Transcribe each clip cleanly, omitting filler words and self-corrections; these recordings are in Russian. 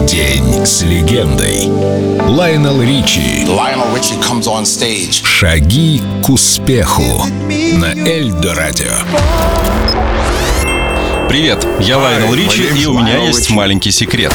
День с легендой. Лайонел Ричи. Шаги к успеху на Эльдо Радио. Привет, я Лайонел Ричи, и у меня есть маленький секрет.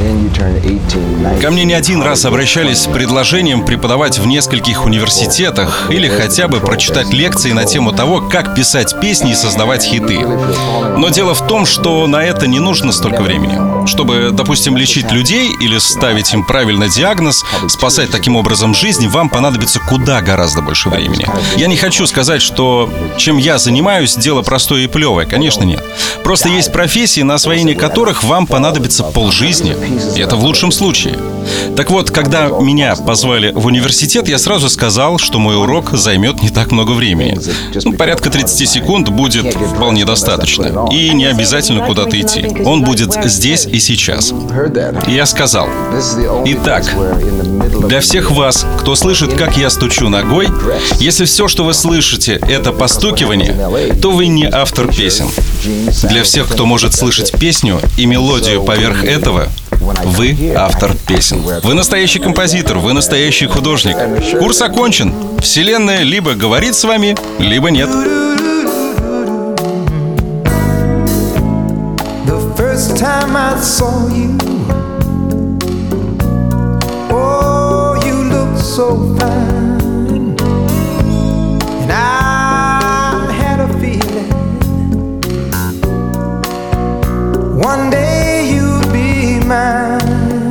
Ко мне не один раз обращались с предложением преподавать в нескольких университетах или хотя бы прочитать лекции на тему того, как писать песни и создавать хиты. Но дело в том, что на это не нужно столько времени. Чтобы, допустим, лечить людей или ставить им правильный диагноз, спасать таким образом жизнь, вам понадобится гораздо больше времени. Я не хочу сказать, что чем я занимаюсь, дело простое и плевое. Конечно, нет. Просто есть профессии, на освоение которых вам понадобится полжизни. И это в лучшем случае. Так вот, когда меня позвали в университет, я сразу сказал, что мой урок займет не так много времени. Порядка 30 секунд будет вполне достаточно. И не обязательно куда-то идти. Он будет здесь и сейчас. И я сказал: итак, для всех вас, кто слышит, как я стучу ногой, если все, что вы слышите, это постукивание, то вы не автор песен. Для всех, кто может слышать песню и мелодию поверх этого, вы автор песен. Вы настоящий композитор, вы настоящий художник. Курс окончен. Вселенная либо говорит с вами, либо нет. One day you'll be mine.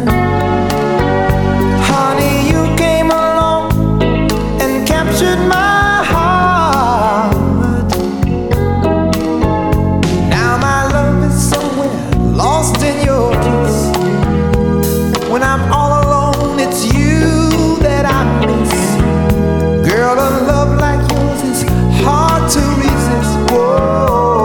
Honey, you came along and captured my heart. Now my love is somewhere lost in your kiss. When I'm all alone, it's you that I miss. Girl, a love like yours is hard to resist. Whoa.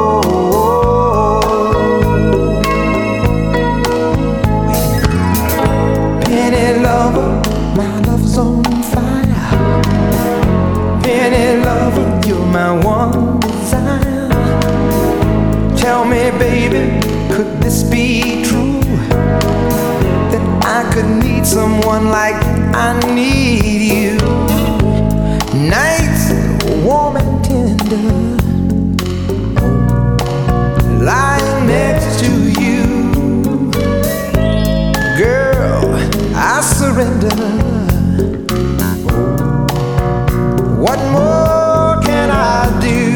My love's on fire. Penny lover, you're my one desire. Tell me, baby, could this be true? That I could need someone like I need you. Nights warm and tender, lying next to you. Girl, I surrender. What more can I do?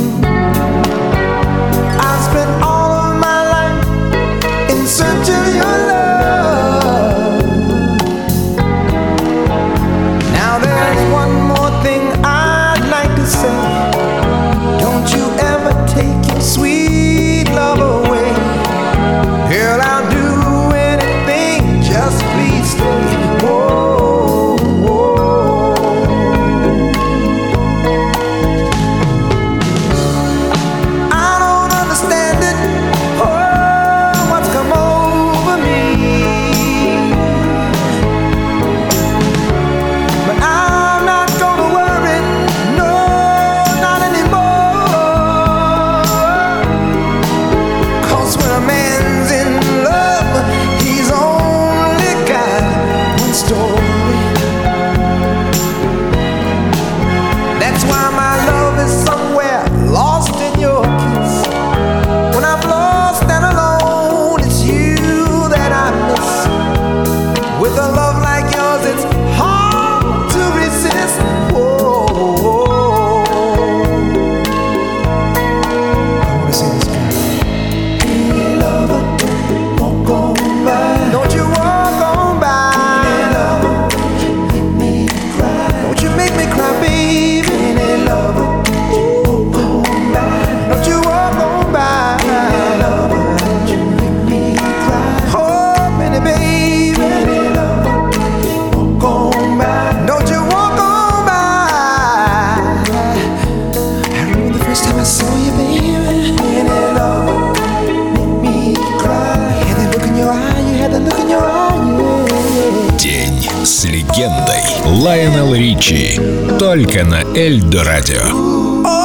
I spent all of my life in search of your love. Now there's one more thing I'd like to say. Don't you ever take your sweet love away. Girl, I'll do anything, just please stay. Whoa, whoa. I don't understand it, oh, what's come over me. But I'm not gonna worry, no, not anymore. 'Cause when a man's in love, he's only got one story. That's why my love is somewhere lost in your kiss. When I'm lost and alone, it's you that I miss. With a love like yours, it's hard to resist. Whoa, whoa. I wanna say this, girl. Hey, lover, walk on by. Don't you walk on by. Hey, lover, make me cry. Don't you make me cry, baby. Hey, lover, walk on by. Don't you walk on by. Hey, lover, don't you make me cry. Oh, pretty baby. Hey, lover, walk on by. Don't you walk on by. I remember the first time I saw you, baby. Hey, lover, make me cry. You had that look in your eye, you had that look in your eye, yeah. День с легендой. Лайонел Ричи. Только на Эльдо Радио.